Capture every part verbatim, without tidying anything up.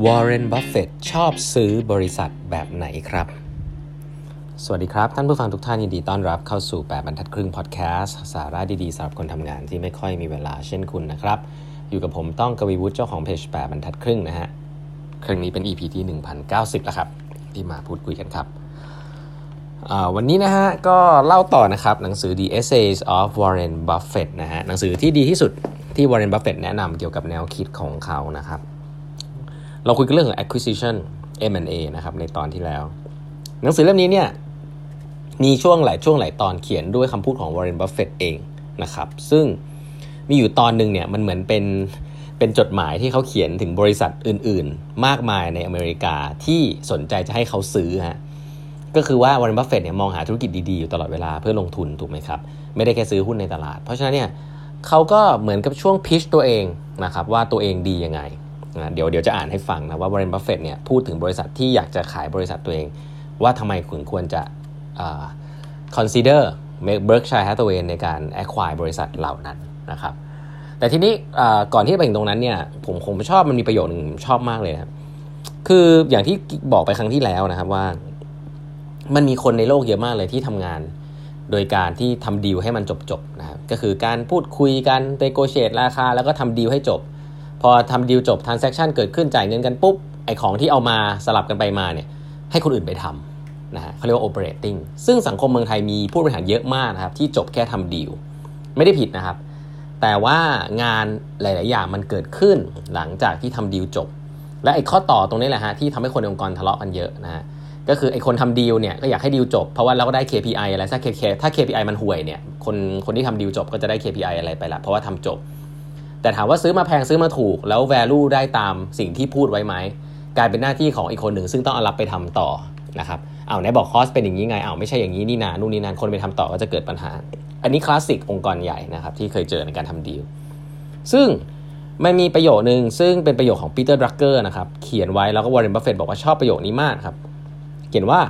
วอร์เรน บัฟเฟตต์ชอบซื้อบริษัทแบบไหนครับสวัสดีครับท่านผู้ฟังทุกท่านยินดีต้อนรับเข้าสู่แปดบรรทัดครึ่งพอดแคสต์สาระดีๆสำหรับคนทำงานที่ไม่ค่อยมีเวลาเช่นคุณนะครับอยู่กับผมต้องกวีวุฒิเจ้าของเพจแปดบรรทัดครึ่งนะฮะครั้งนี้เป็น อี พี ที่ หนึ่งพันเก้าสิบ แล้วครับที่มาพูดคุยกันครับวันนี้นะฮะก็เล่าต่อนะครับหนังสือ The Essays of Warren Buffett นะฮะหนังสือที่ดีที่สุดที่ Warren Buffett แนะนำเกี่ยวกับแนวคิดของเขานะครับเราคุยกันเรื่องของ acquisition เอ็ม แอนด์ เอ นะครับในตอนที่แล้วหนังสือเล่มนี้เนี่ยมีช่วงหลายช่วงหลายตอนเขียนด้วยคำพูดของ Warren Buffett เองนะครับซึ่งมีอยู่ตอนนึงเนี่ยมันเหมือนเป็นเป็นจดหมายที่เขาเขียนถึงบริษัทอื่นๆมากมายในอเมริกาที่สนใจจะให้เขาซื้อฮะก็คือว่า Warren Buffett เนี่ยมองหาธุรกิจดีๆอยู่ตลอดเวลาเพื่อลงทุนถูกไหมครับไม่ได้แค่ซื้อหุ้นในตลาดเพราะฉะนั้นเนี่ยเขาก็เหมือนกับช่วงพิชตัวเองนะครับว่าตัวเองดียังไงนะเดี๋ยวเดี๋ยวจะอ่านให้ฟังนะว่า Warren Buffett เนี่ยพูดถึงบริษัทที่อยากจะขายบริษัทตัวเองว่าทำไมคุณควรจะอ่า consider Berkshire Hathaway ในการ acquire บริษัทเหล่านั้นนะครับแต่ทีนี้ก่อนที่จะไปถึงตรงนั้นเนี่ยผมผมชอบมันมีประโยชน์นึงชอบมากเลยนะครับคืออย่างที่บอกไปครั้งที่แล้วนะครับว่ามันมีคนในโลกเยอะมากเลยที่ทำงานโดยการที่ทำดีลให้มันจบๆนะครับก็คือการพูดคุยกัน negotiate ราคาแล้วก็ทำดีลให้จบพอทำดีลจบ transaction เกิดขึ้นจ่ายเงินกันปุ๊บไอ้ของที่เอามาสลับกันไปมาเนี่ยให้คนอื่นไปทำนะฮะเขาเรียกว่า operating ซึ่งสังคมเมืองไทยมีผู้บริหารเยอะมากนะครับที่จบแค่ทำดีลไม่ได้ผิดนะครับแต่ว่างานหลายๆอย่างมันเกิดขึ้นหลังจากที่ทำดีลจบและไอ้ข้อต่อตรงนี้แหละฮะที่ทำให้คนในองค์กรทะเลาะกันเยอะนะฮะก็คือไอ้คนทำดีลเนี่ยก็อยากให้ดีลจบเพราะว่าเราก็ได้ เค พี ไอ อะไรถ้า ถ้า เค พี ไอ มันห่วยเนี่ยคนคนที่ทำดีลจบก็จะได้ เค พี ไอ อะไรไปละเพราะว่าทำจบแต่ถามว่าซื้อมาแพงซื้อมาถูกแล้ว value ได้ตามสิ่งที่พูดไว้ไหมกลายเป็นหน้าที่ของอีกคนหนึ่งซึ่งต้องเอารับไปทำต่อนะครับอ้าวไหนบอกคอสเป็นอย่างนี้ไงอ้าวไม่ใช่อย่างนี้นี่นานู่นนี่นั่นคนไปทำต่อก็จะเกิดปัญหาอันนี้คลาสสิกองค์กรใหญ่นะครับที่เคยเจอในการทำดีลซึ่งมันมีประโยคนึงซึ่งเป็นประโยคของปีเตอร์ ดรักเกอร์นะครับเขียนไว้แล้วก็วอร์เรน บัฟเฟตต์บอกว่าชอบประโยคนี้มากครับเขียนว่า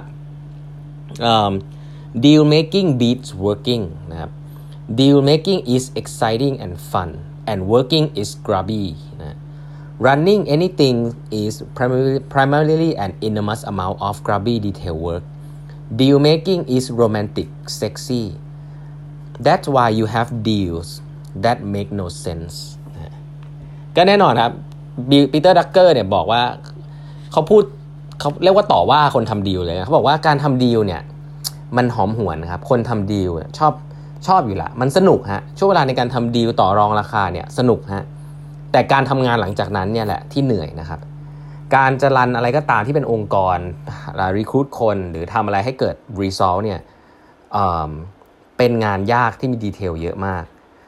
um, deal making beats working นะครับ deal making is exciting and fun and working is grubby นะ running anything is primarily, primarily an enormous amount of grubby detail work deal making is romantic sexy that's why you have deals that make no sense ก็แน่นอนครับปีเตอร์ ดรักเกอร์เนี่ยบอกว่าเขาพูดเขาเรียกว่าต่อว่าคนทำดีลเลยเขาบอกว่าการทำดีลเนี่ยมันหอมหวนครับคนทำดีลชอบชอบอยู่ละมันสนุกฮะช่วงเวลาในการทำดีลต่อรองราคาเนี่ยสนุกฮะแต่การทำงานหลังจากนั้นเนี่ยแหละที่เหนื่อยนะครับการจะรันอะไรก็ตามที่เป็นองค์กรรีครูทคนหรือทำอะไรให้เกิด result เนี่ย เอ่อ เป็นงานยากที่มีดีเทลเยอะมาก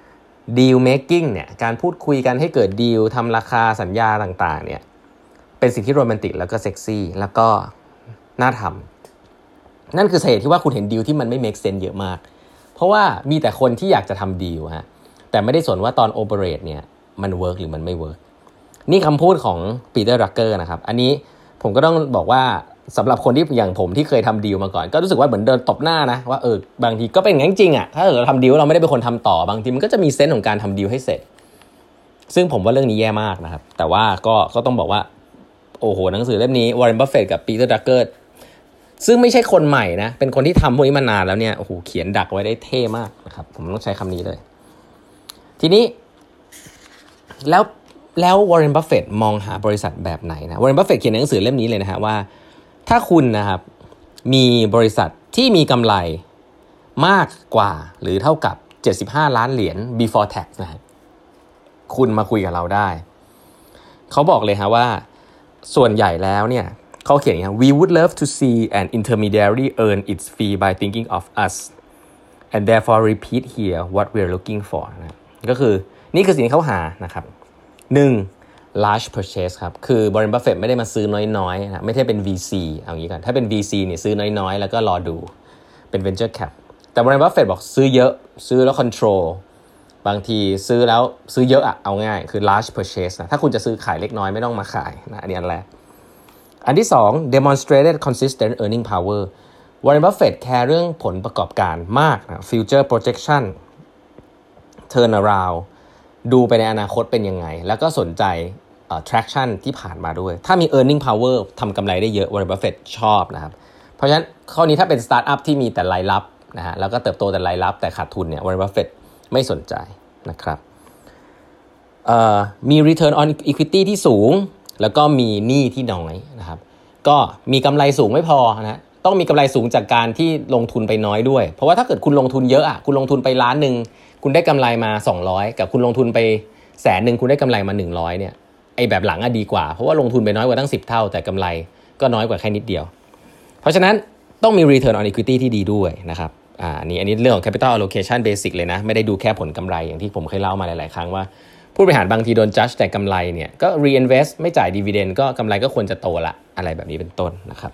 deal making เนี่ยการพูดคุยกันให้เกิดดีลทำราคาสัญญาต่างๆเนี่ยเป็นสิ่งที่โรแมนติกแล้วก็เซ็กซี่แล้วก็น่าทำนั่นคือสาเหตุที่ว่าคุณเห็นดีลที่มันไม่ make sense เยอะมากเพราะว่ามีแต่คนที่อยากจะทำดีลฮะแต่ไม่ได้สนว่าตอน operate เนี่ยมัน work หรือมันไม่ work นี่คำพูดของปีเตอร์ ดรักเกอร์นะครับอันนี้ผมก็ต้องบอกว่าสำหรับคนที่อย่างผมที่เคยทำดีลมาก่อนก็รู้สึกว่าเหมือนเดินตบหน้านะว่าเออบางทีก็เป็นอย่างนั้นจริงอ่ะถ้าเราทำดีลเราไม่ได้เป็นคนทำต่อบางทีมันก็จะมีเซนส์ของการทำดีลให้เสร็จซึ่งผมว่าเรื่องนี้แย่มากนะครับแต่ว่าก็ก็ต้องบอกว่าโอ้โหหนังสือเล่มนี้วอร์เรน บัฟเฟตต์กับปีเตอร์ ดรักเกอร์ซึ่งไม่ใช่คนใหม่นะเป็นคนที่ทำพวกนี้มานานแล้วเนี่ยโอ้โหเขียนดักไว้ได้เท่มากนะครับผมต้องใช้คำนี้เลยทีนี้แล้วแล้ววอร์เรน บัฟเฟตต์มองหาบริษัทแบบไหนนะวอร์เรน บัฟเฟตต์เขียนในหนังสือเล่มนี้เลยนะฮะว่าถ้าคุณนะครับมีบริษัทที่มีกำไรมากกว่าหรือเท่ากับเจ็ดสิบห้าล้านเหรียญ before tax นะคุณมาคุยกับเราได้เขาบอกเลยฮะว่าส่วนใหญ่แล้วเนี่ยเขาเขียนอย่างนี้ we would love to see an intermediary earn its fee by thinking of us and therefore repeat here what we're looking for นะก็คือนี่คือสิ่งที่เขาหานะครับหนึ่งlarge purchase ครับคือบริษัท Buffett ไม่ได้มาซื้อน้อยๆนะไม่ใช่เป็น วี ซี เอาอย่างนี้ก่อนถ้าเป็น วี ซี เนี่ยซื้อน้อยๆแล้วก็รอดูเป็น venture cap แต่บริษัท Buffett บอกซื้อเยอะซื้อแล้ว control บางทีซื้อแล้วซื้อเยอะอะเอาง่ายคือ large purchase นะถ้าคุณจะซื้อขายเล็กน้อยไม่ต้องมาขายนะอันนี้อันแรกอันที่สอง demonstrated consistent earning power วอร์เรน บัฟเฟตต์แคร์เรื่องผลประกอบการมากนะ future projection turn around ดูไปในอนาคตเป็นยังไงแล้วก็สนใจเอ่อ traction ที่ผ่านมาด้วยถ้ามี earning power ทำกำไรได้เยอะ Warren Buffett ชอบนะครับเพราะฉะนั้นข้อนี้ถ้าเป็น startup ที่มีแต่รายรับนะฮะแล้วก็เติบโตแต่รายรับแต่ขาดทุนเนี่ย Warren Buffett ไม่สนใจนะครับเอ่อมี return on equity ที่สูงแล้วก็มีหนี้ที่น้อยนะครับก็มีกำไรสูงไม่พอนะต้องมีกำไรสูงจากการที่ลงทุนไปน้อยด้วยเพราะว่าถ้าเกิดคุณลงทุนเยอะอ่ะคุณลงทุนไปล้านนึงคุณได้กำไรมาสองร้อยกับคุณลงทุนไปแสนนึงคุณได้กำไรมาหนึ่งร้อยเนี่ยไอ้แบบหลังอ่ะดีกว่าเพราะว่าลงทุนไปน้อยกว่าตั้งสิบเท่าแต่กำไรก็น้อยกว่าแค่นิดเดียวเพราะฉะนั้นต้องมี return on equity ที่ดีด้วยนะครับอ่านี่อันนี้เรื่องของ capital allocation basic เลยนะไม่ได้ดูแค่ผลกำไรอย่างที่ผมเคยเล่ามาหลายๆครั้งว่าผู้บริหารบางทีโดน judge แต่กำไรเนี่ยก็ reinvest ไม่จ่าย dividend ก็กำไรก็ควรจะโตละอะไรแบบนี้เป็นต้นนะครับ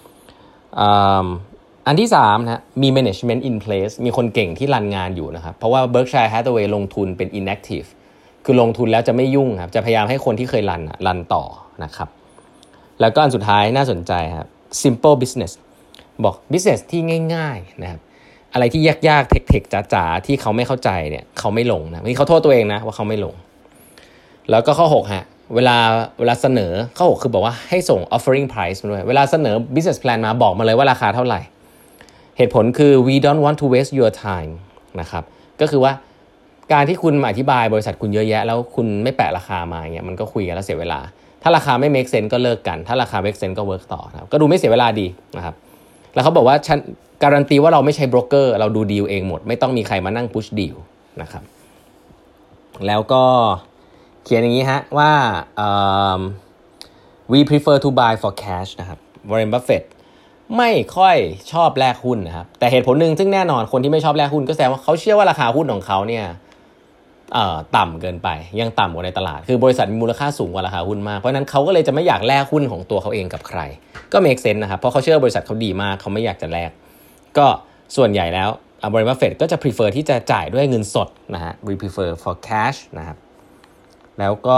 อันที่สามนะมี management in place มีคนเก่งที่รันงานอยู่นะครับเพราะว่า Berkshire Hathaway ลงทุนเป็น inactive คือลงทุนแล้วจะไม่ยุ่งครับจะพยายามให้คนที่เคยรันรันต่อนะครับแล้วก็อันสุดท้ายน่าสนใจครับ simple business บอก business ที่ง่ายๆนะครับอะไรที่ยากๆเทคๆจ๋าๆที่เขาไม่เข้าใจเนี่ยเขาไม่ลงนะนี่เขาโทษตัวเองนะว่าเขาไม่ลงแล้วก็ข้อหกฮะเวลาเวลาเสนอข้อหกคือบอกว่าให้ส่ง offering price มาด้วยเวลาเสนอ business plan มาบอกมาเลยว่าราคาเท่าไหร่เหตุผลคือ we don't want to waste your time นะครับก็คือว่าการที่คุณมาอธิบายบริษัทคุณเยอะแยะแล้วคุณไม่แปะราคามาอย่างเงี้ยมันก็คุยกันแล้วเสียเวลาถ้าราคาไม่ make sense ก็เลิกกันถ้าราคา make sense ก็ work ต่อนะครับก็ดูไม่เสียเวลาดีนะครับแล้วเขาบอกว่าฉันการันตีว่าเราไม่ใช่โบรกเกอร์เราดูดีลเองหมดไม่ต้องมีใครมานั่ง push deal นะครับแล้วก็เขียนอย่างนี้ฮะว่า um, we prefer to buy for cash นะครับ Warren Buffett ไม่ค่อยชอบแลกหุ้นนะครับแต่เหตุผลหนึ่งซึ่งแน่นอนคนที่ไม่ชอบแลกหุ้นก็แสดงว่าเขาเชื่อว่าราคาหุ้นของเขาเนี่ยเอ่อต่ำเกินไปยังต่ำกว่าในตลาดคือบริษัทมีมูลค่าสูงกว่าราคาหุ้นมากเพราะฉะนั้นเขาก็เลยจะไม่อยากแลกหุ้นของตัวเขาเองกับใครก็ make sense นะครับเพราะเขาเชื่อบริษัทเขาดีมากเขาไม่อยากจะแลกก็ส่วนใหญ่แล้ว Warren Buffett ก็จะ prefer ที่จะจ่ายด้วยเงินสดนะฮะ we prefer for cash นะครับแล้วก็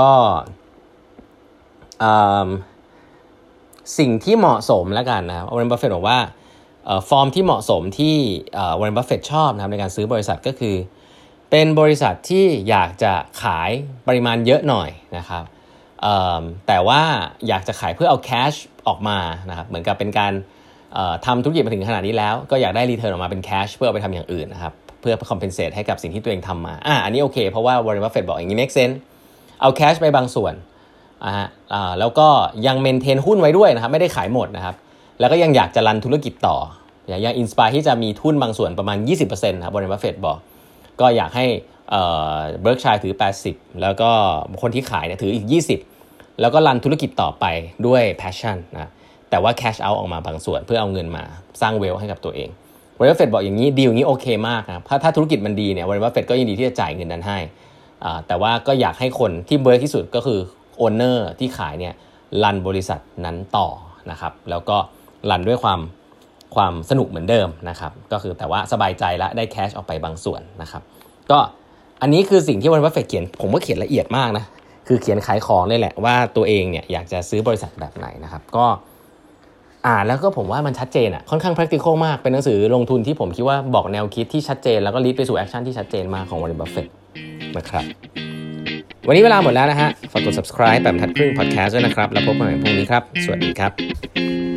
สิ่งที่เหมาะสมแล้วกันนะครับ Warren Buffett บอกว่าฟอร์มที่เหมาะสมที่ Warren Buffett ชอบนะครับในการซื้อบริษัทก็คือเป็นบริษัทที่อยากจะขายปริมาณเยอะหน่อยนะครับแต่ว่าอยากจะขายเพื่อเอาแคชออกมานะครับเหมือนกับเป็นการทำธุรกิจมาถึงขนาดนี้แล้วก็อยากได้รีเทิร์นออกมาเป็นแคชเพื่อเอาไปทำอย่างอื่นนะครับเพื่อ compensate ให้กับสิ่งที่ตัวเองทำมาอ่ะอันนี้โอเคเพราะว่า Warren Buffett บอกอย่างนี้ make sense เอาแคชไปบางส่วนอ่าอ่าแล้วก็ยังเมนเทนหุ้นไว้ด้วยนะครับไม่ได้ขายหมดนะครับแล้วก็ยังอยากจะรันธุรกิจต่ออย่างยังอินสไปร์ที่จะมีทุนบางส่วนประมาณ ยี่สิบเปอร์เซ็นต์ นะครับ Warren Buffett บอกก็อยากให้เอ่อ Berkshire ถือแปดสิบแล้วก็คนที่ขายเนี่ยถืออีกยี่สิบแล้วก็รันธุรกิจต่อไปด้วย passion นะแต่ว่า cash out ออกมาบางส่วนเพื่อเอาเงินมาสร้างเวลให้กับตัวเอง Warren Buffett บอกอย่างนี้ดีลอย่างนี้โอเคมากครับถ้าถ้าธุรกิจมันดีเนี่ย Warren Buffett ก็ยินดีที่จะจ่ายเงินนั้นให้อ่าแต่ว่าก็อยากให้คนที่เวิร์คที่สุดก็คือโอนเนอร์ที่ขายเนี่ยรันบริษัทนั้นต่อนะครับแล้วก็รันด้วยความความสนุกเหมือนเดิมนะครับก็คือแต่ว่าสบายใจและได้แคชออกไปบางส่วนนะครับก็อันนี้คือสิ่งที่Warren Buffettเขียนผมก็เขียนละเอียดมากนะคือเขียนขายของเลยแหละว่าตัวเองเนี่ยอยากจะซื้อบริษัทแบบไหนนะครับก็อ่านแล้วก็ผมว่ามันชัดเจนอ่ะค่อนข้าง practical มากเป็นหนังสือลงทุนที่ผมคิดว่าบอกแนวคิดที่ชัดเจนแล้วก็ lead ไปสู่แอคชั่นที่ชัดเจนมากของ Warren Buffett นะครับวันนี้เวลาหมดแล้วนะฮะฝากกด subscribe แบบบรรทัดครึ่ง podcast ด้วยนะครับแล้วพบกันใหม่พรุ่งนี้ครับสวัสดีครับ